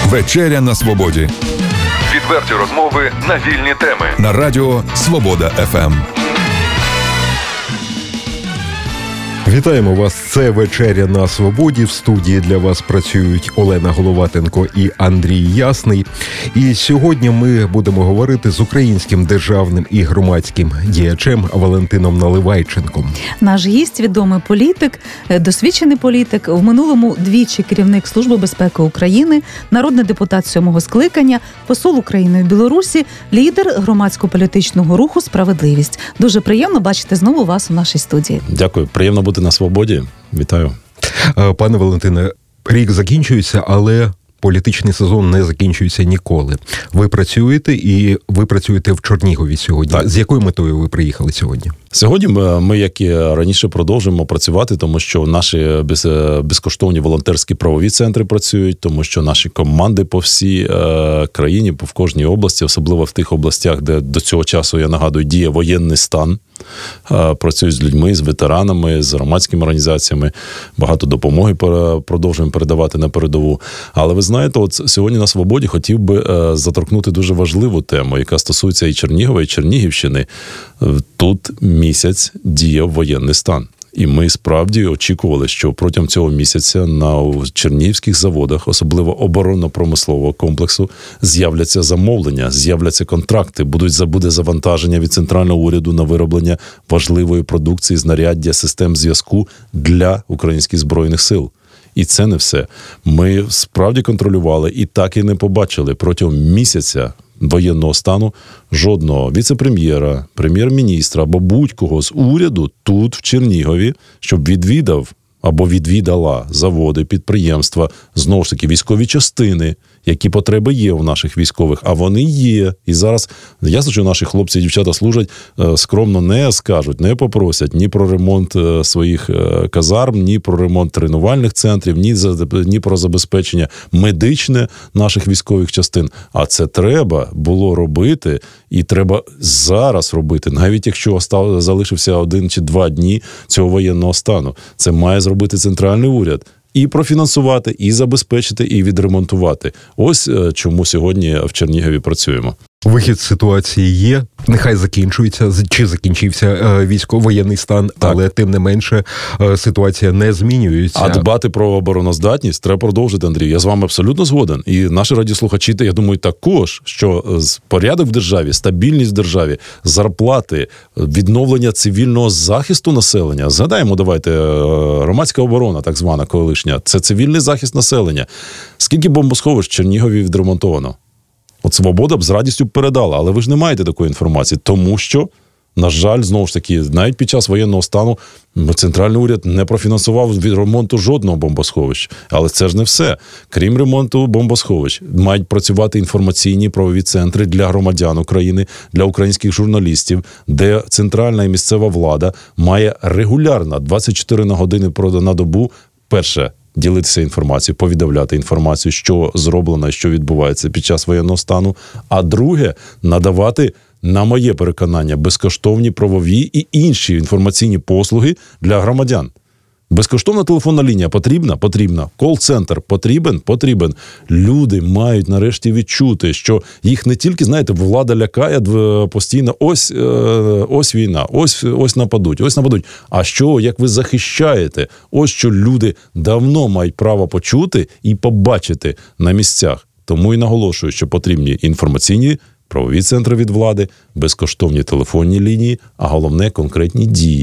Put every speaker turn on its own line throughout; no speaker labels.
Вечеря на свободі. Відверті розмови на вільні теми. На радіо Свобода ФМ.
Вітаємо вас. Це «Вечеря на свободі». В студії для вас працюють Олена Головатенко і Андрій Ясний. І сьогодні ми будемо говорити з українським державним і громадським діячем Валентином Наливайченком.
Наш гість – відомий політик, досвідчений політик, в минулому двічі керівник Служби безпеки України, народний депутат 7-го скликання, посол України в Білорусі, лідер громадсько-політичного руху «Справедливість». Дуже приємно бачити знову вас у нашій студії.
Дякую. Приємно бути на свободі. Вітаю.
Пане Валентине, рік закінчується, але політичний сезон не закінчується ніколи. Ви працюєте в Чернігові сьогодні. Так. З якою метою ви приїхали сьогодні?
Сьогодні ми, як і раніше, продовжуємо працювати, тому що наші безкоштовні волонтерські правові центри працюють, тому що наші команди по всій країні, в кожній області, особливо в тих областях, де до цього часу, я нагадую, діє воєнний стан, працюють з людьми, з ветеранами, з громадськими організаціями, багато допомоги продовжуємо передавати на передову. Але ви знаєте, от сьогодні на свободі хотів би заторкнути дуже важливу тему, яка стосується і Чернігова, і Чернігівщини. Тут місяць діяв воєнний стан. І ми справді очікували, що протягом цього місяця на чернігівських заводах, особливо оборонно-промислового комплексу, з'являться замовлення, з'являться контракти, буде завантаження від центрального уряду на вироблення важливої продукції, знаряддя, систем зв'язку для українських Збройних сил. І це не все. Ми справді контролювали і так і не побачили протягом місяця воєнного стану жодного віце-прем'єра, прем'єр-міністра або будь-кого з уряду тут, в Чернігові, щоб відвідав або відвідала заводи, підприємства, знову ж таки, військові частини, які потреби є у наших військових, а вони є. І зараз, ясно, що наші хлопці і дівчата служать, скромно не скажуть, не попросять ні про ремонт своїх казарм, ні про ремонт тренувальних центрів, ні про забезпечення медичне наших військових частин. А це треба було робити, і треба зараз робити, навіть якщо залишився 1 чи 2 дні цього воєнного стану. Це має зробити центральний уряд. І профінансувати, і забезпечити, і відремонтувати. Ось чому сьогодні в Чернігові працюємо.
Вихід з ситуації є. Нехай закінчується, чи закінчився військово-воєнний стан, так. Але тим не менше ситуація не змінюється.
А дбати про обороноздатність треба продовжити, Андрій. Я з вами абсолютно згоден. І наші радіослухачі, я думаю, також, що порядок в державі, стабільність в державі, зарплати, відновлення цивільного захисту населення. Згадаємо, давайте, громадська оборона, так звана колишня, це цивільний захист населення. Скільки бомбосховищ в Чернігові відремонтовано? От «Свобода» б з радістю передала, але ви ж не маєте такої інформації, тому що, на жаль, знову ж таки, навіть під час воєнного стану центральний уряд не профінансував від ремонту жодного бомбосховища. Але це ж не все. Крім ремонту бомбосховищ, мають працювати інформаційні правові центри для громадян України, для українських журналістів, де центральна і місцева влада має регулярно 24 на години на добу, перше, ділитися інформацією, повідомляти інформацію, що зроблено, що відбувається під час воєнного стану. А друге, надавати, на моє переконання, безкоштовні правові і інші інформаційні послуги для громадян. Безкоштовна телефонна лінія потрібна? Потрібна. Кол-центр потрібен? Потрібен. Люди мають нарешті відчути, що їх не тільки, знаєте, влада лякає постійно, ось війна, ось нападуть. А що, як ви захищаєте? Ось що люди давно мають право почути і побачити на місцях. Тому і наголошую, що потрібні інформаційні правові центри від влади, безкоштовні телефонні лінії, а головне – конкретні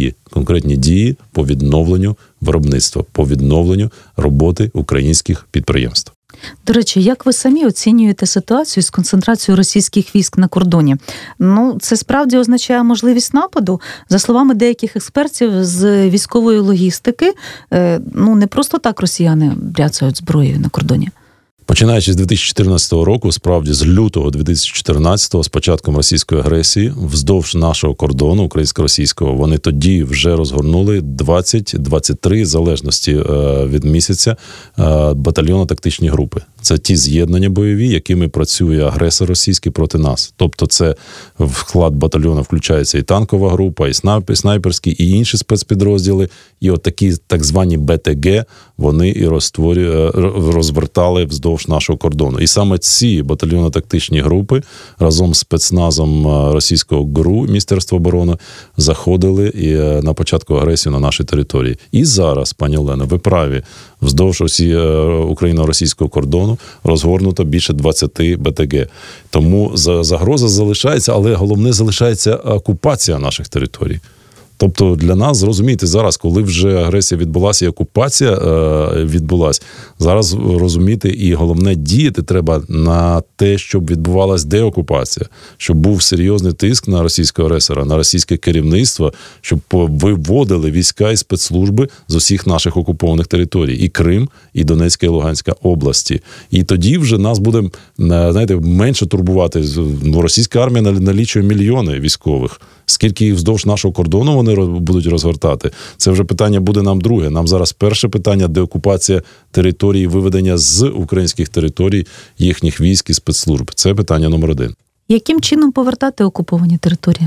дії по відновленню виробництва, по відновленню роботи українських підприємств.
До речі, як ви самі оцінюєте ситуацію з концентрацією російських військ на кордоні? Це справді означає можливість нападу? За словами деяких експертів з військової логістики, не просто так росіяни бряцають зброєю на кордоні.
Починаючи з 2014 року, справді з лютого 2014-го, з початком російської агресії, вздовж нашого кордону, українсько-російського, вони тоді вже розгорнули 20-23, в залежності від місяця, батальйонно-тактичні групи. Це ті з'єднання бойові, якими працює агресор російський проти нас. Тобто це в склад батальйону включається і танкова група, і снайперські, і інші спецпідрозділи. І от такі так звані БТГ вони і розвертали вздовж вздовж нашого кордону. І саме ці батальйонно-тактичні групи разом з спецназом російського ГРУ, Міністерства оборони, заходили на початку агресії на нашій території. І зараз, пані Олено, ви праві, вздовж україно-російського кордону розгорнуто більше 20 БТГ. Тому загроза залишається, але головне залишається окупація наших територій. Тобто для нас, зрозумійте, зараз, коли вже агресія відбулася і окупація відбулася, зараз розуміти і головне діяти треба на те, щоб відбувалася деокупація, щоб був серйозний тиск на російського агресора, на російське керівництво, щоб виводили війська і спецслужби з усіх наших окупованих територій. І Крим, і Донецька, і Луганська області. І тоді вже нас буде, знаєте, менше турбувати. Російська армія налічує мільйони військових. Скільки їх вздовж нашого кордону вони будуть розгортати, це вже питання буде нам друге. Нам зараз перше питання – деокупація території, виведення з українських територій їхніх військ і спецслужб. Це питання номер 1.
Яким чином повертати окуповані території?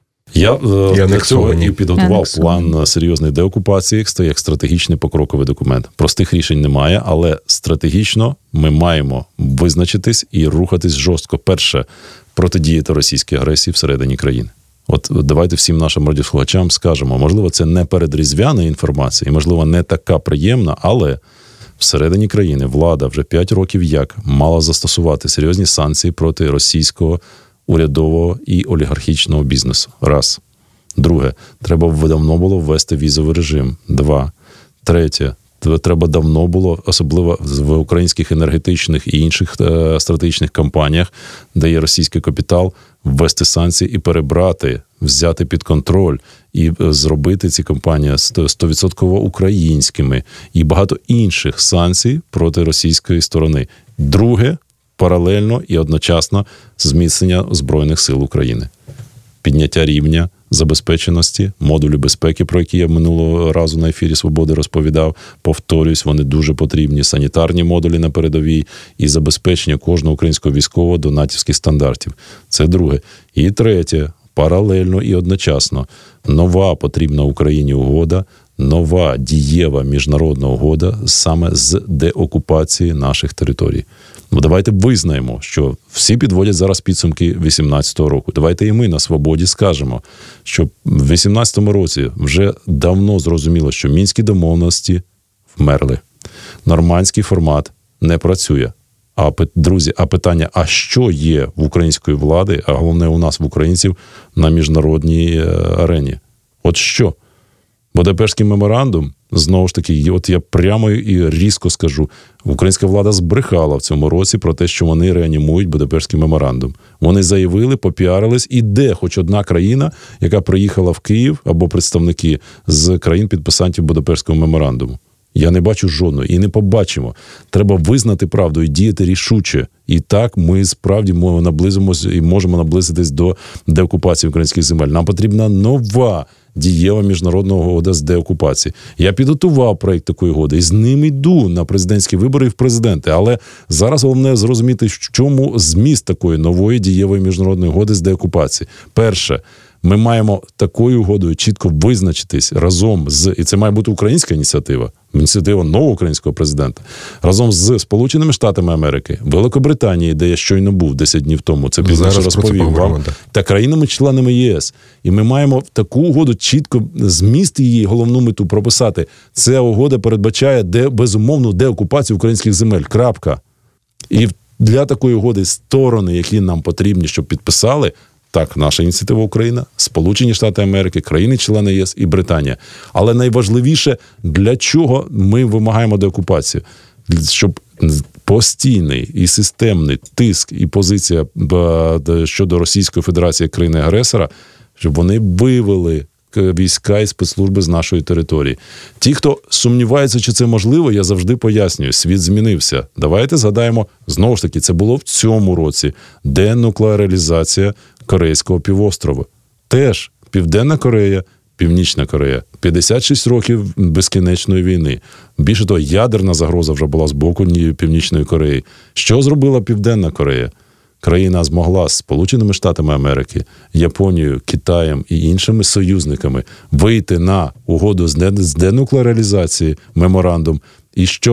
Я для цього і підготував план серйозної деокупації, як стратегічний покроковий документ. Простих рішень немає, але стратегічно ми маємо визначитись і рухатись жорстко. Перше – протидіяти російській агресії всередині країни. От давайте всім нашим радіослухачам скажемо, можливо, це не передріздвяна інформація, і, можливо, не така приємна, але всередині країни влада вже 5 років як мала застосувати серйозні санкції проти російського урядового і олігархічного бізнесу. Раз. Друге, треба давно було ввести візовий режим. 2. Третє. Треба давно було, особливо в українських енергетичних і інших стратегічних компаніях, де є російський капітал, ввести санкції і перебрати, взяти під контроль і зробити ці компанії 100% українськими і багато інших санкцій проти російської сторони. Друге, паралельно і одночасно зміцнення Збройних сил України. Підняття рівня забезпеченості, модулі безпеки, про які я минулого разу на ефірі «Свободи» розповідав. Повторюсь, вони дуже потрібні. Санітарні модулі на передовій і забезпечення кожного українського військового до натівських стандартів. Це друге. І третє, паралельно і одночасно. Нова потрібна Україні угода, нова дієва міжнародна угода саме з деокупації наших територій. Ну, давайте визнаємо, що всі підводять зараз підсумки 2018 року. Давайте і ми на «Свободі» скажемо, що в 2018 році вже давно зрозуміло, що мінські домовленості вмерли. Нормандський формат не працює. Друзі, питання, а що є в української влади, а головне у нас, в українців, на міжнародній арені? От що? Будапештський меморандум, знову ж таки, от я прямо і різко скажу, українська влада збрехала в цьому році про те, що вони реанімують Будапештський меморандум. Вони заявили, попіарились, і де хоч одна країна, яка приїхала в Київ, або представники з країн-підписантів Будапештського меморандуму. Я не бачу жодної і не побачимо. Треба визнати правду і діяти рішуче. І так ми справді наблизимось і можемо наблизитись до деокупації українських земель. Нам потрібна нова дієва міжнародна угода з деокупації. Я підготував проєкт такої угоди і з ним йду на президентські вибори і в президенти. Але зараз головне зрозуміти, в чому зміст такої нової дієвої міжнародної угоди з деокупації. Перше, ми маємо такою угодою чітко визначитись разом з, і це має бути українська ініціатива нового українського президента, разом з Сполученими Штатами Америки, Великобританії, де я щойно був 10 днів тому, це пізніше розповів вам, та країнами-членами ЄС. І ми маємо таку угоду чітко, зміст її, головну мету прописати. Ця угода передбачає безумовну деокупацію українських земель. Крапка. І для такої угоди сторони, які нам потрібні, щоб підписали, так, наша ініціатива Україна, Сполучені Штати Америки, країни-члени ЄС і Британія. Але найважливіше, для чого ми вимагаємо деокупацію? Щоб постійний і системний тиск і позиція щодо Російської Федерації як країни-агресора, щоб вони вивели війська і спецслужби з нашої території. Ті, хто сумнівається, чи це можливо, я завжди пояснюю, світ змінився. Давайте згадаємо, знову ж таки, це було в цьому році, денуклеаризація Корейського півострова. Теж Південна Корея, Північна Корея. 56 років безкінечної війни. Більше того, ядерна загроза вже була з боку Північної Кореї. Що зробила Південна Корея? Країна змогла з Сполученими Штатами Америки, Японією, Китаєм і іншими союзниками вийти на угоду з денуклеаризації, меморандум. І що?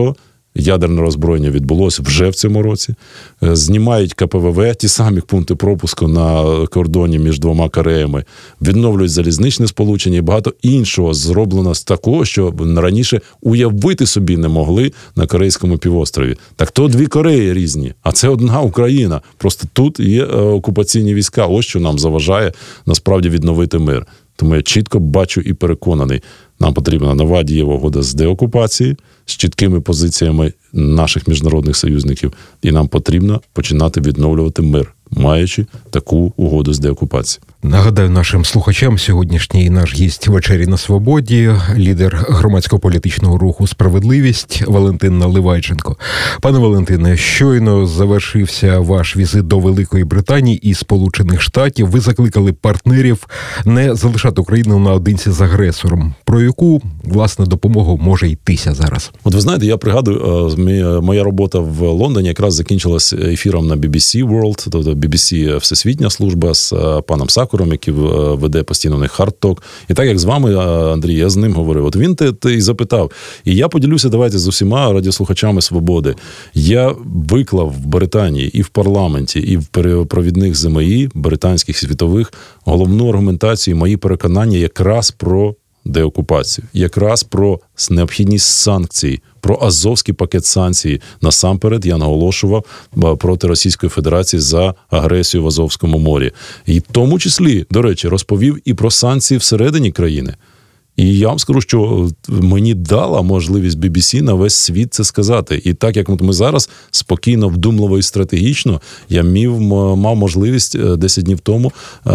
Ядерне роззброєння відбулося вже в цьому році. Знімають КПВВ, ті самі пункти пропуску на кордоні між двома Кореями, відновлюють залізничне сполучення і багато іншого зроблено з такого, що раніше уявити собі не могли на Корейському півострові. Так то дві Кореї різні, а це одна Україна. Просто тут є окупаційні війська. Ось що нам заважає насправді відновити мир. Тому я чітко бачу і переконаний, нам потрібна нова дієва угода з деокупації, з чіткими позиціями наших міжнародних союзників, і нам потрібно починати відновлювати мир, маючи таку угоду з деокупації.
Нагадаю нашим слухачам, сьогоднішній наш гість «Вечері на свободі», лідер громадсько-політичного руху «Справедливість» Валентин Наливайченко. Пане Валентине, щойно завершився ваш візит до Великої Британії і Сполучених Штатів. Ви закликали партнерів не залишати Україну наодинці з агресором. Про яку, власне, допомогу може йтися зараз?
От ви знаєте, я пригадую, моя робота в Лондоні якраз закінчилась ефіром на BBC World, тобто BBC Всесвітня служба з паном Сакуром, який веде постійно на Hard Talk. І так, як з вами, Андрій, я з ним говорив. От він те і запитав. І я поділюся, давайте, з усіма радіослухачами «Свободи». Я виклав в Британії і в парламенті, і в провідних ЗМІ, британських, світових, головну аргументацію, мої переконання якраз про деокупацію, якраз про необхідність санкцій, про азовський пакет санкцій. Насамперед я наголошував проти Російської Федерації за агресію в Азовському морі. І в тому числі, до речі, розповів і про санкції всередині країни. І я вам скажу, що мені дала можливість BBC на весь світ це сказати. І так, як ми зараз спокійно, вдумливо і стратегічно, я мав можливість 10 днів тому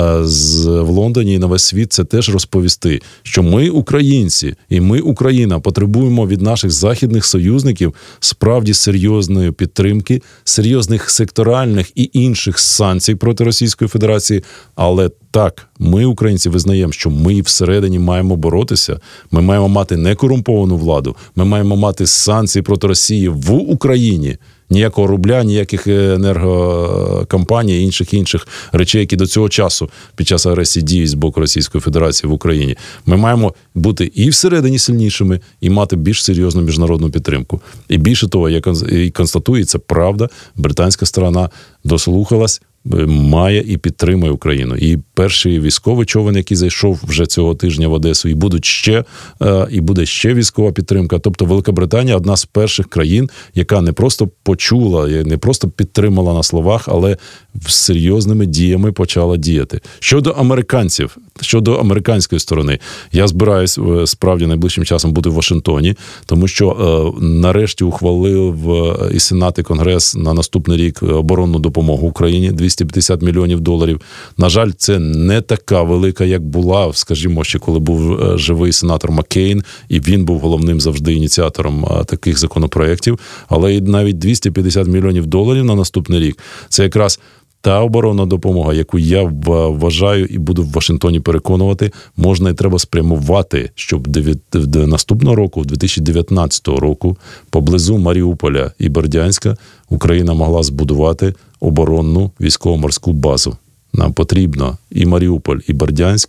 в Лондоні і на весь світ це теж розповісти, що ми, українці, і ми, Україна, потребуємо від наших західних союзників справді серйозної підтримки, серйозних секторальних і інших санкцій проти Російської Федерації, але так, ми, українці, визнаємо, що ми всередині маємо боротися, ми маємо мати некорумповану владу, ми маємо мати санкції проти Росії в Україні. Ніякого рубля, ніяких енергокомпаній і інших речей, які до цього часу під час агресії діють з боку Російської Федерації в Україні. Ми маємо бути і всередині сильнішими, і мати більш серйозну міжнародну підтримку. І більше того, як і констатується, правда, британська сторона дослухалась, має і підтримує Україну. І перший військовий човен, який зайшов вже цього тижня в Одесу, і буде ще військова підтримка. Тобто Велика Британія – одна з перших країн, яка не просто почула, не просто підтримала на словах, але з серйозними діями почала діяти. Щодо американців, щодо американської сторони, я збираюсь справді найближчим часом бути в Вашингтоні, тому що нарешті ухвалив і Сенат, і Конгрес на наступний рік оборонну допомогу Україні, $250 мільйонів. На жаль, це не така велика, як була, скажімо, ще коли був живий сенатор Маккейн, і він був головним завжди ініціатором таких законопроєктів, але і навіть $250 мільйонів на наступний рік – це якраз та оборонна допомога, яку я вважаю і буду в Вашингтоні переконувати, можна і треба спрямувати, щоб до наступного року, 2019 року, поблизу Маріуполя і Бердянська Україна могла збудувати оборонну військово-морську базу. Нам потрібно і Маріуполь, і Бердянськ,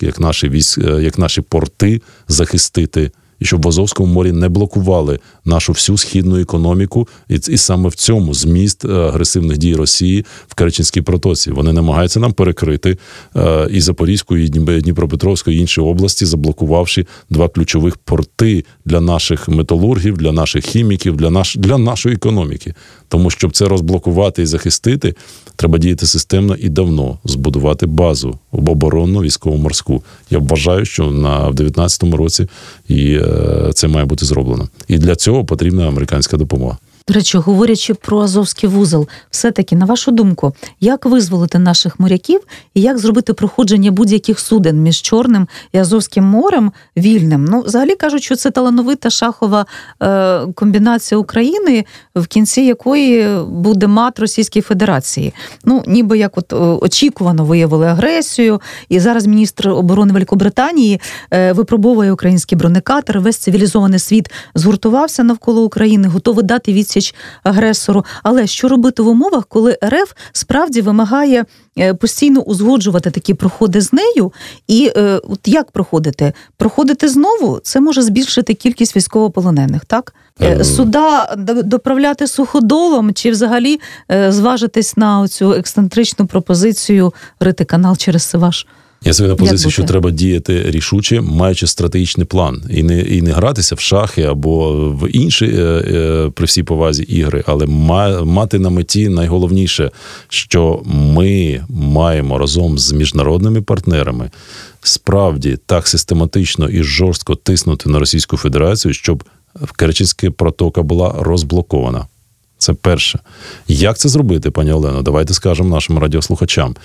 як наші порти, захистити, і щоб в Азовському морі не блокували нашу всю східну економіку, і саме в цьому зміст агресивних дій Росії в Керченській протоці. Вони намагаються нам перекрити і Запорізьку, і Дніпропетровську, і інші області, заблокувавши два ключових порти для наших металургів, для наших хіміків, для нашої економіки. Тому, щоб це розблокувати і захистити, треба діяти системно і давно, збудувати базу оборонну військово-морську. Я вважаю, що в 2019 році і це має бути зроблено. І для цього потрібна американська допомога.
До речі, говорячи про Азовський вузол, все-таки, на вашу думку, як визволити наших моряків і як зробити проходження будь-яких суден між Чорним і Азовським морем вільним? Ну, взагалі кажуть, що це талановита шахова комбінація України, в кінці якої буде мат Російської Федерації. Ну, ніби як очікувано виявили агресію, і зараз міністр оборони Великобританії випробовує український бронекатер, весь цивілізований світ згуртувався навколо України, готовий дати відсіч відсіч агресору. Але що робити в умовах, коли РФ справді вимагає постійно узгоджувати такі проходи з нею? І от як проходити? Проходити знову – це може збільшити кількість військовополонених, так? Суда доправляти суходолом чи взагалі зважитись на цю ексцентричну пропозицію рити канал через Сиваш?
Я собі на позиції, що треба діяти рішуче, маючи стратегічний план. І не гратися в шахи або в інші, при всій повазі, ігри, але мати на меті найголовніше, що ми маємо разом з міжнародними партнерами справді так систематично і жорстко тиснути на Російську Федерацію, щоб Керченська протока була розблокована. Це перше. Як це зробити, пані Олено? Давайте скажемо нашим радіослухачам.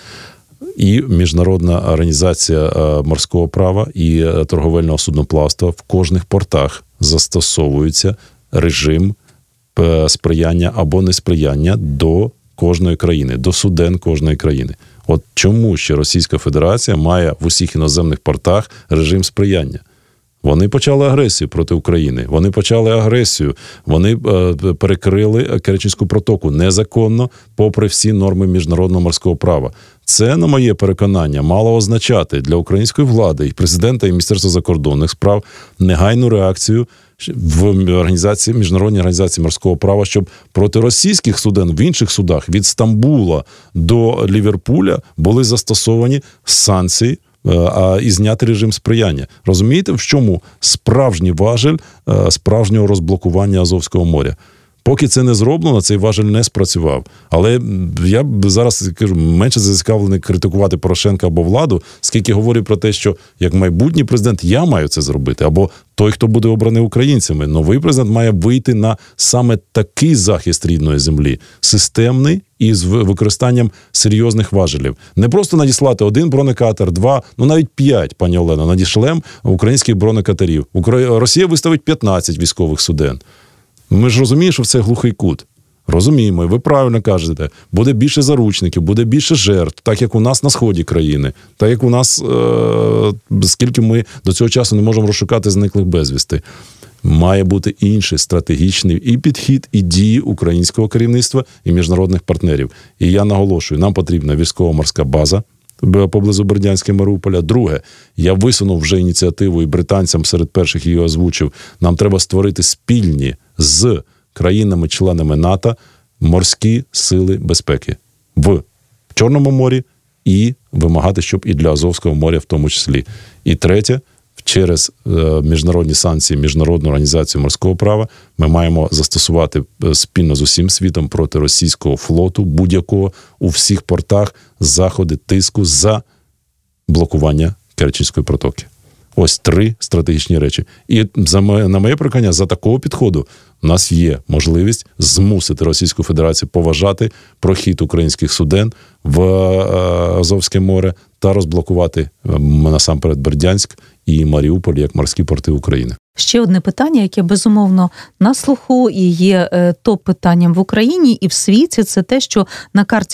І Міжнародна організація морського права і торговельного судноплавства в кожних портах застосовується режим сприяння або несприяння до кожної країни, до суден кожної країни. От чому ще Російська Федерація має в усіх іноземних портах режим сприяння? Вони почали агресію проти України, вони почали агресію, вони перекрили Керченську протоку незаконно, попри всі норми міжнародного морського права. Це, на моє переконання, мало означати для української влади, і президента, і Міністерства закордонних справ негайну реакцію в Міжнародній організації морського права, щоб проти російських суден в інших судах від Стамбула до Ліверпуля були застосовані санкції, і зняти режим сприяння. Розумієте, в чому справжній важель справжнього розблокування Азовського моря? Поки це не зроблено, цей важель не спрацював. Але я б зараз кажу, менше зацікавлений критикувати Порошенка або владу, скільки говорю про те, що як майбутній президент я маю це зробити, або той, хто буде обраний українцями. Новий президент має вийти на саме такий захист рідної землі, системний і з використанням серйозних важелів. Не просто надіслати 1 бронекатер, 2, навіть 5, пані Олено, надішлем українських бронекатерів. Росія виставить 15 військових суден. Ми ж розуміємо, що це глухий кут. Розуміємо, і ви правильно кажете, буде більше заручників, буде більше жертв, так як у нас на сході країни, так як у нас, скільки ми до цього часу не можемо розшукати зниклих безвісти. Має бути інший стратегічний і підхід, і дії українського керівництва, і міжнародних партнерів. І я наголошую, нам потрібна військово-морська база поблизу Бердянська і Маріуполя. Друге, я висунув вже ініціативу і британцям серед перших її озвучив. Нам треба створити спільні з країнами-членами НАТО морські сили безпеки в Чорному морі і вимагати, щоб і для Азовського моря в тому числі. І третє, через міжнародні санкції Міжнародну організацію морського права ми маємо застосувати спільно з усім світом проти російського флоту будь-якого у всіх портах заходи тиску за блокування Керченської протоки. Ось 3 стратегічні речі. І на моє переконання, за такого підходу у нас є можливість змусити Російську Федерацію поважати прохід українських суден в Азовське море та розблокувати насамперед Бердянськ і Маріуполь як морські порти України.
Ще одне питання, яке безумовно на слуху і є топ-питанням в Україні і в світі, це те, що на карті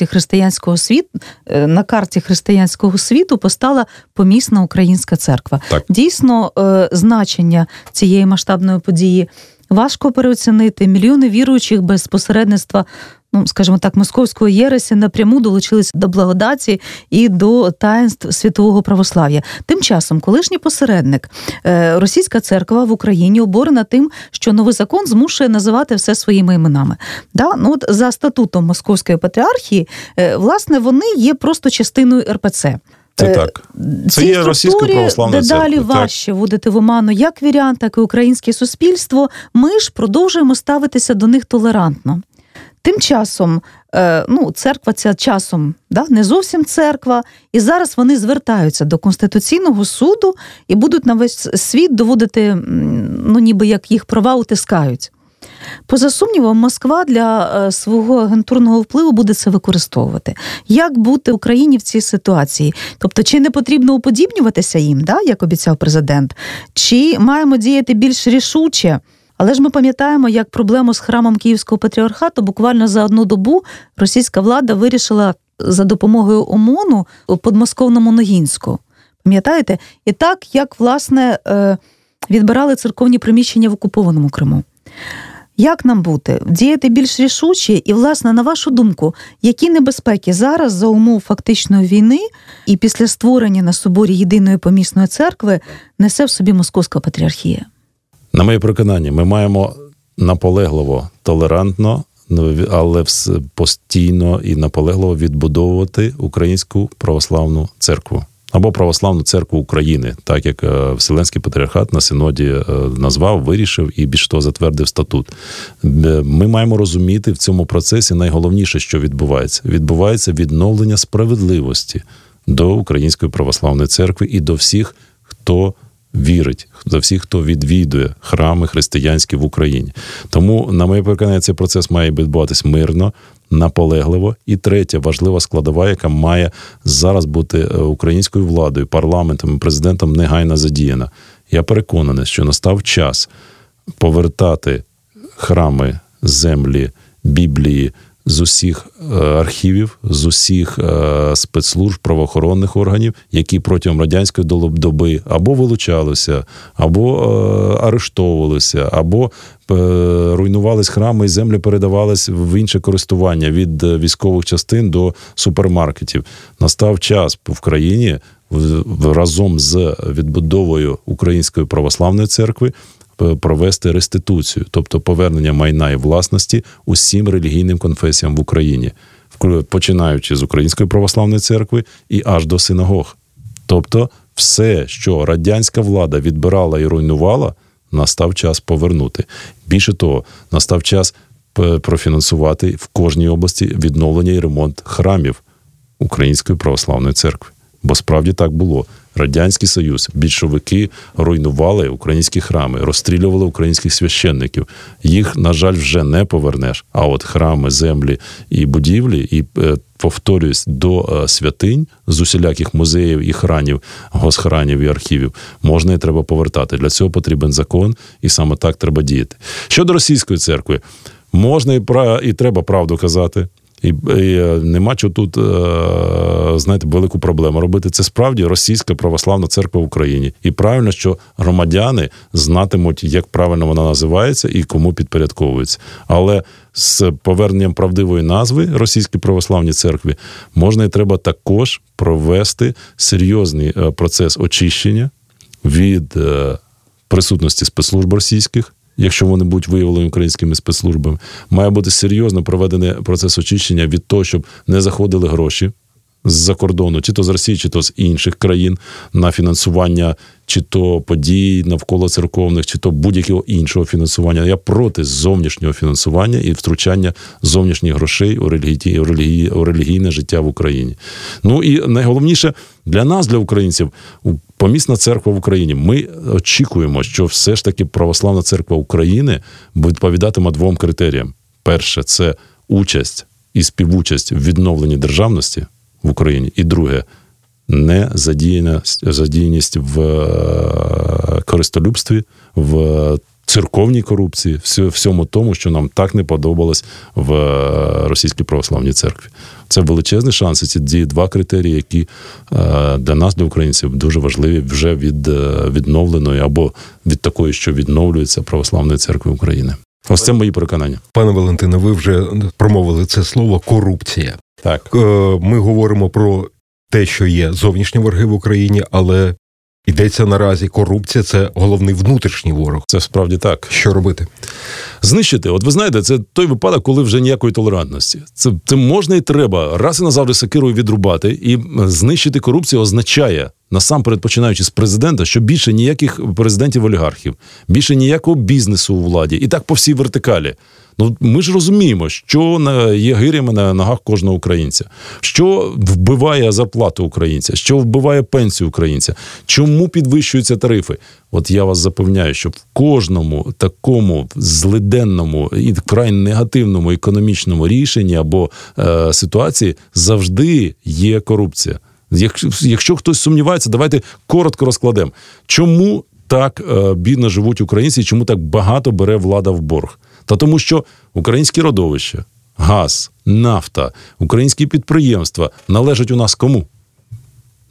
християнського світу постала помісна українська церква. Так. Дійсно, значення цієї масштабної події важко переоцінити. Мільйони віруючих без посередництва, скажімо так, московської єресі напряму долучилися до благодаті і до таїнств світового православ'я. Тим часом колишній посередник, російська церква в Україні обурена тим, що новий закон змушує називати все своїми іменами. От за статутом Московської патріархії, власне, вони є просто частиною РПЦ.
Це так. Це є російська православна церква.
Дедалі важче вводити в оману як вірян, так і українське суспільство. Ми ж продовжуємо ставитися до них толерантно. Тим часом, церква ця часом, не зовсім церква, і зараз вони звертаються до Конституційного суду і будуть на весь світ доводити, ніби як їх права утискають. Поза сумнівом, Москва для свого агентурного впливу буде це використовувати. Як бути Україні в цій ситуації? Тобто, чи не потрібно уподібнюватися їм, як обіцяв президент? Чи маємо діяти більш рішуче? Але ж ми пам'ятаємо, як проблему з храмом Київського патріархату буквально за 1 добу російська влада вирішила за допомогою ОМОНу у подмосковному Ногінську. Пам'ятаєте? І так, як, власне, відбирали церковні приміщення в окупованому Криму. Як нам бути? Діяти більш рішуче? І, власне, на вашу думку, які небезпеки зараз за умов фактичної війни і після створення на соборі Єдиної помісної церкви несе в собі Московська патріархія?
На моє переконання, ми маємо наполегливо, толерантно, але постійно і наполегливо відбудовувати Українську православну церкву. Або Православну церкву України, так як Вселенський патріархат на синоді назвав, вирішив і більш того затвердив статут. Ми маємо розуміти в цьому процесі найголовніше, що відбувається. Відбувається відновлення справедливості до Української православної церкви і до всіх, хто вірить, до всіх, хто відвідує храми християнські в Україні. Тому, на моє переконання, цей процес має відбуватись мирно, наполегливо. І третя важлива складова, яка має зараз бути українською владою, парламентом і президентом негайно задіяна. Я переконаний, що настав час повертати храми, землі, Біблії з усіх архівів, з усіх спецслужб, правоохоронних органів, які протягом радянської доби або вилучалися, або арештовувалися, або руйнувались храми і землі передавались в інше користування від військових частин до супермаркетів. Настав час в країні разом з відбудовою Української православної церкви провести реституцію, тобто повернення майна і власності усім релігійним конфесіям в Україні, починаючи з Української православної церкви і аж до синагог. Тобто все, що радянська влада відбирала і руйнувала, настав час повернути. Більше того, настав час профінансувати в кожній області відновлення і ремонт храмів Української православної церкви. Бо справді так було. Радянський Союз, більшовики руйнували українські храми, розстрілювали українських священників. Їх, на жаль, вже не повернеш. А от храми, землі і будівлі, і, повторююсь, до святинь з усіляких музеїв і храмів, госхрамів і архівів можна і треба повертати. Для цього потрібен закон, і саме так треба діяти. Щодо російської церкви, можна і треба правду казати. І нема чого тут, знаєте, велику проблему робити. Це справді Російська православна церква в Україні. І правильно, що громадяни знатимуть, як правильно вона називається і кому підпорядковується. Але з поверненням правдивої назви Російській православній церкві можна і треба також провести серйозний процес очищення від присутності спецслужб російських, якщо вони будуть виявлені українськими спецслужбами. Має бути серйозно проведений процес очищення від того, щоб не заходили гроші з-за кордону, чи то з Росії, чи то з інших країн, на фінансування чи то подій навколо церковних, чи то будь-якого іншого фінансування. Я проти зовнішнього фінансування і втручання зовнішніх грошей у релігійне життя в Україні. Ну і найголовніше для нас, для українців, помісна церква в Україні. Ми очікуємо, що все ж таки православна церква України відповідатиме двом критеріям. Перше – це участь і співучасть в відновленні державності в Україні. І друге – не задіяність в користолюбстві, в церковній корупції, всьому тому, що нам так не подобалось в Російській православній церкві. Це величезні шанси, ці два критерії, які для нас, для українців, дуже важливі вже від відновленої або від такої, що відновлюється православної церкви України. Ось це мої переконання.
Пане Валентине, ви вже промовили це слово «корупція».
Так.
Ми говоримо про те, що є зовнішні вороги в Україні, але йдеться наразі корупція – це головний внутрішній ворог.
Це справді так.
Що робити?
Знищити. От ви знаєте, це той випадок, коли вже ніякої толерантності. Це можна і треба раз і назавжди сокирою відрубати, і знищити корупцію означає, насамперед починаючи з президента, що більше ніяких президентів-олігархів, більше ніякого бізнесу у владі. І так по всій вертикалі. Ну, ми ж розуміємо, що є гирями на ногах кожного українця, що вбиває зарплату українця, що вбиває пенсію українця, чому підвищуються тарифи. От я вас запевняю, що в кожному такому злиденному і вкрай негативному економічному рішенні або ситуації завжди є корупція. Якщо хтось сумнівається, давайте коротко розкладемо. Чому так бідно живуть українці і чому так багато бере влада в борг? Та тому, що українські родовища, газ, нафта, українські підприємства належать у нас кому?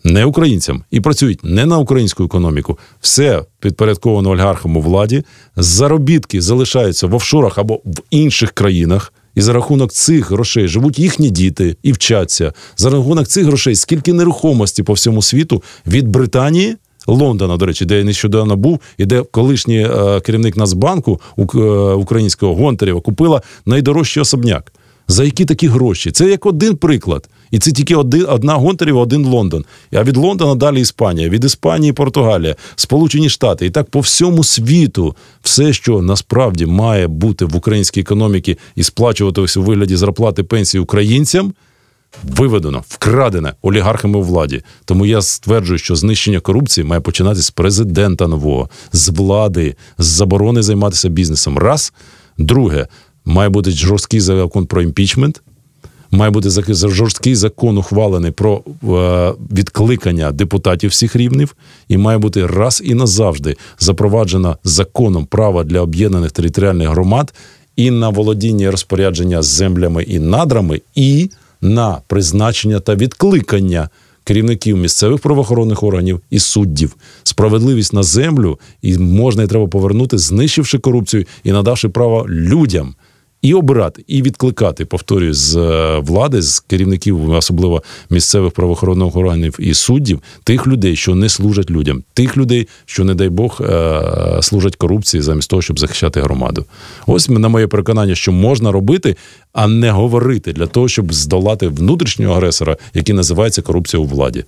не українцям, і працюють не на українську економіку. Все підпорядковано олігархам у владі, заробітки залишаються в офшорах або в інших країнах, і за рахунок цих грошей живуть їхні діти і вчаться. За рахунок цих грошей скільки нерухомості по всьому світу від Британії, Лондона, до речі, де я нещодавно був, і де колишній керівник Нацбанку українського Гонтарєва купила найдорожчий особняк. За які такі гроші? Це як один приклад. І це тільки одна Гонтарєва, один Лондон. А від Лондона далі Іспанія, від Іспанії Португалія, Сполучені Штати. І так по всьому світу все, що насправді має бути в українській економіці і сплачуватися у вигляді зарплати пенсії українцям, виведено, вкрадене олігархами у владі. Тому я стверджую, що знищення корупції має починатися з президента нового, з влади, з заборони займатися бізнесом. Раз. Друге, має бути жорсткий закон про імпічмент, має бути жорсткий закон ухвалений про відкликання депутатів всіх рівнів, і має бути раз і назавжди запроваджено законом право для об'єднаних територіальних громад і на володіння і розпорядження землями і надрами, і на призначення та відкликання керівників місцевих правоохоронних органів і суддів. Справедливість на землю і можна і треба повернути, знищивши корупцію і надавши право людям і обирати, і відкликати, повторюю, з влади, з керівників, особливо місцевих правоохоронних органів і суддів, тих людей, що не служать людям, тих людей, що, не дай Бог, служать корупції замість того, щоб захищати громаду. Ось на моє переконання, що можна робити, а не говорити для того, щоб здолати внутрішнього агресора, який називається корупція у владі.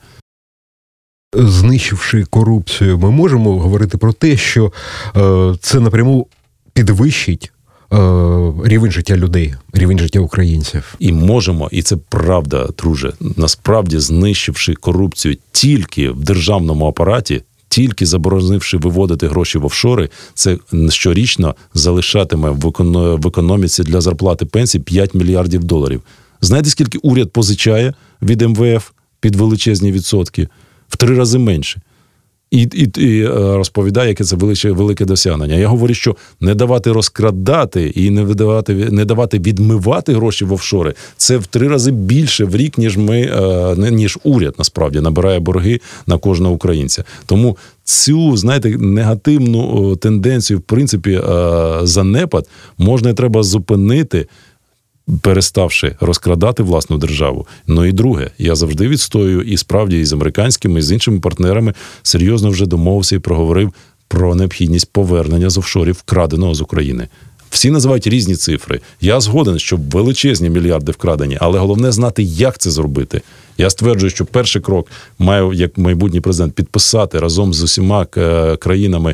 Знищивши корупцію, ми можемо говорити про те, що це напряму підвищить рівень життя людей, рівень життя українців.
І можемо, і це правда, друже. Насправді, знищивши корупцію тільки в державному апараті, тільки заборонивши виводити гроші в офшори, це щорічно залишатиме в економіці для зарплати пенсій 5 мільярдів доларів. Знаєте, скільки уряд позичає від МВФ під величезні відсотки? В 3 рази менше. І розповідає, яке це велике досягнення. Я говорю, що не давати розкрадати і не давати відмивати гроші в офшори, це в 3 рази більше в рік, ніж уряд, насправді, набирає борги на кожного українця. Тому цю, знаєте, негативну тенденцію, в принципі, занепад можна і треба зупинити, переставши розкрадати власну державу. Ну і друге, я завжди відстоюю і справді і з американськими, і з іншими партнерами серйозно вже домовився і проговорив про необхідність повернення з офшорів вкраденого з України. Всі називають різні цифри. Я згоден, що величезні мільярди вкрадені, але головне знати, як це зробити. Я стверджую, що перший крок має, як майбутній президент, підписати разом з усіма країнами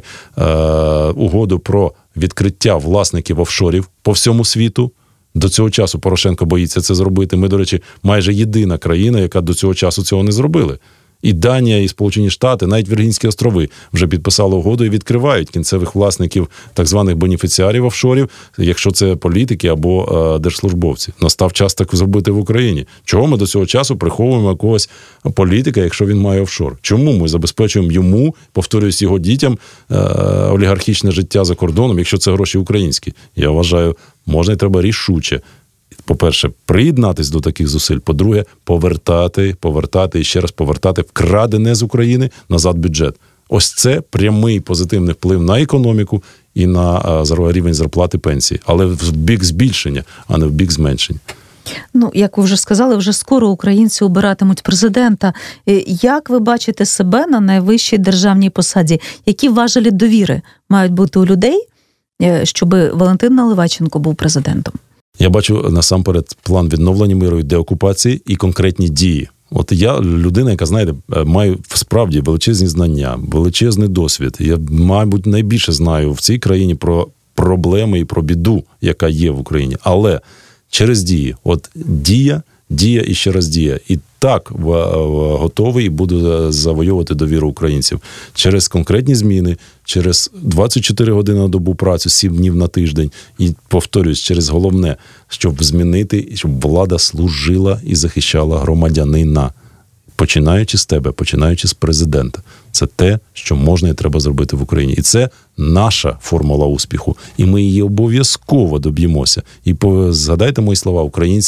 угоду про відкриття власників офшорів по всьому світу. До цього часу Порошенко боїться це зробити. Ми, до речі, майже єдина країна, яка до цього часу цього не зробили. І Данія, і Сполучені Штати, навіть Віргінські острови вже підписали угоду і відкривають кінцевих власників так званих бенефіціарів офшорів, якщо це політики або держслужбовці. Настав час так зробити в Україні. Чого ми до цього часу приховуємо якогось політика, якщо він має офшор? Чому ми забезпечуємо йому, повторююсь, його дітям, олігархічне життя за кордоном, якщо це гроші українські? Я вважаю, можна і треба рішуче. По-перше, приєднатись до таких зусиль. По-друге, повертати і ще раз повертати вкрадене з України назад бюджет. Ось це прямий позитивний вплив на економіку і на рівень зарплати пенсії. Але в бік збільшення, а не в бік зменшення.
Ну, як ви вже сказали, вже скоро українці обиратимуть президента. Як ви бачите себе на найвищій державній посаді? Які важелі довіри мають бути у людей, щоб Валентин Наливайченко був президентом?
Я бачу насамперед план відновлення миру і деокупації і конкретні дії. От я людина, яка, знаєте, маю справді величезні знання, величезний досвід. Я, мабуть, найбільше знаю в цій країні про проблеми і про біду, яка є в Україні. Але через дії. От дія і ще раз дія. І так готовий і буду завойовувати довіру українців. Через конкретні зміни, через 24 години на добу працю, 7 днів на тиждень. І, повторюсь, через головне, щоб змінити, щоб влада служила і захищала громадянина. Починаючи з тебе, починаючи з президента. Це те, що можна і треба зробити в Україні. І це наша формула успіху. І ми її обов'язково доб'ємося. І згадайте мої слова, українці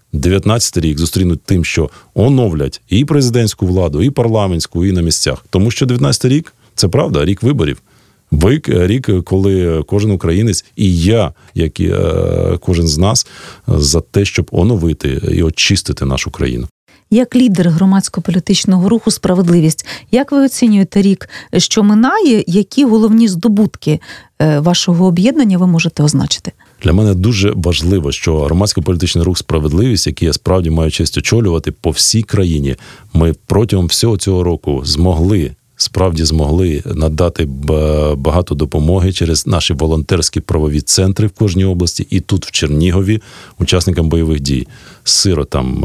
19-й рік зустрінуть тим, що оновлять і президентську владу, і парламентську, і на місцях. Тому що 19-й рік – це правда, рік виборів. Рік, коли кожен українець і я, як і кожен з нас, за те, щоб оновити і очистити нашу країну.
Як лідер громадсько-політичного руху «Справедливість», як ви оцінюєте рік, що минає, які головні здобутки вашого об'єднання ви можете означити?
Для мене дуже важливо, що громадсько-політичний рух «Справедливість», який я справді маю честь очолювати по всій країні, ми протягом всього цього року справді змогли надати багато допомоги через наші волонтерські правові центри в кожній області і тут, в Чернігові, учасникам бойових дій, сиротам,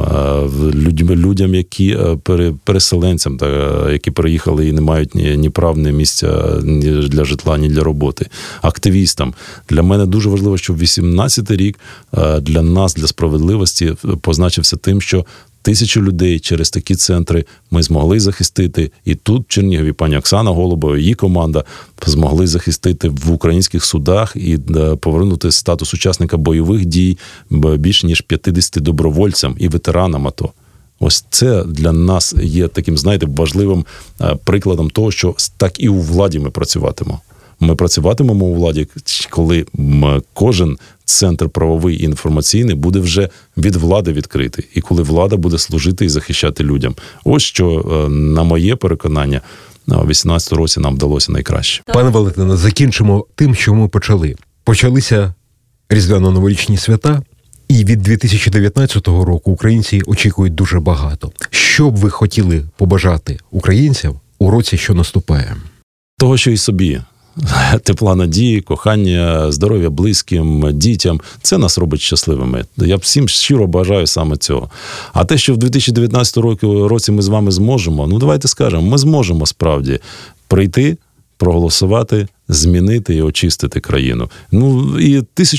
людям, які переселенцям, які переїхали і не мають ні прав, ні місця ні для житла, ні для роботи, активістам. Для мене дуже важливо, що 18-й рік для нас, для «Справедливості», позначився тим, що 1000 людей через такі центри ми змогли захистити. І тут, в Чернігові, пані Оксана Голубова, її команда змогли захистити в українських судах і повернути статус учасника бойових дій більше ніж 50 добровольцям і ветеранам АТО. Ось це для нас є таким, важливим прикладом того, що так і у владі ми працюватимемо. Ми працюватимемо у владі, коли кожен центр правовий і інформаційний буде вже від влади відкритий. І коли влада буде служити і захищати людям. Ось що, на моє переконання, у 2018 році нам вдалося найкраще.
Пане Валентине, закінчимо тим, що ми почали. Почалися різдвяно-новорічні свята, і від 2019 року українці очікують дуже багато. Що б ви хотіли побажати українцям у році, що наступає?
Того, що і собі. Тепла надії, кохання, здоров'я близьким, дітям. Це нас робить щасливими. Я всім щиро бажаю саме цього. А те, що в 2019 році ми з вами зможемо, давайте скажемо, ми зможемо справді прийти, проголосувати, змінити і очистити країну. І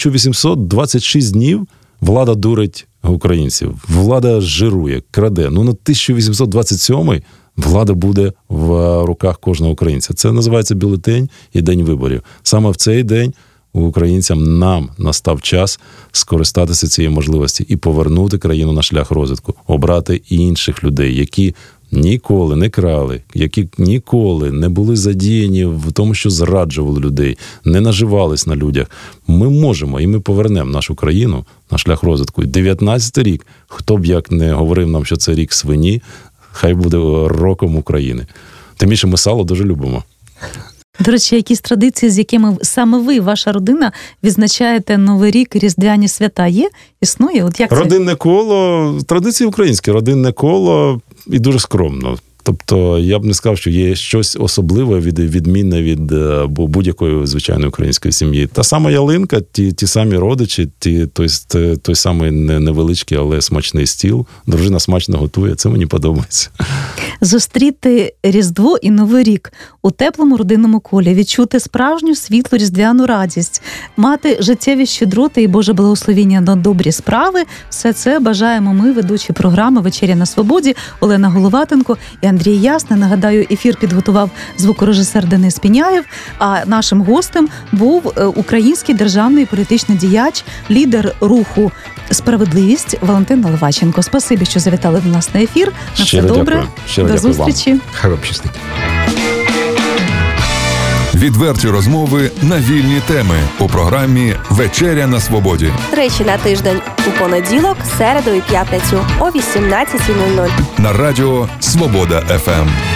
1826 днів влада дурить українців. Влада жирує, краде. На 1827-й влада буде в руках кожного українця. Це називається бюлетень і день виборів. Саме в цей день українцям нам настав час скористатися цією можливості і повернути країну на шлях розвитку, обрати інших людей, які ніколи не крали, які ніколи не були задіяні в тому, що зраджували людей, не наживались на людях. Ми можемо, і ми повернемо нашу країну на шлях розвитку. І 19-й рік, хто б як не говорив нам, що це рік свині, хай буде роком України. Тим більше ми сало дуже любимо.
До речі, якісь традиції, з якими саме ви, ваша родина, відзначаєте Новий рік, різдвяні свята є? Існує? От як це?
Родинне коло, традиції українські, родинне коло і дуже скромно. Тобто, я б не сказав, що є щось особливе, відмінне від будь-якої звичайної української сім'ї. Та сама ялинка, ті самі родичі, той самий невеличкий, але смачний стіл. Дружина смачно готує, це мені подобається.
Зустріти Різдво і Новий рік у теплому родинному колі, відчути справжню світлу різдвяну радість, мати життєві щедроти і Боже благословіння на добрі справи – все це бажаємо ми, ведучі програми «Вечеря на свободі» Олена Головатенко і Андрій Ясний. Нагадаю, ефір підготував звукорежисер Денис Піняєв, а нашим гостем був український державний політичний діяч, лідер руху «Справедливість» Валентин Наливайченко. Спасибі, що завітали до нас на ефір. На все добре. До зустрічі.
Хай вам щастить.
Відверті розмови на вільні теми у програмі «Вечеря на свободі».
Тричі на тиждень у понеділок, середу і п'ятницю о 18:00.
На радіо «Свобода ФМ».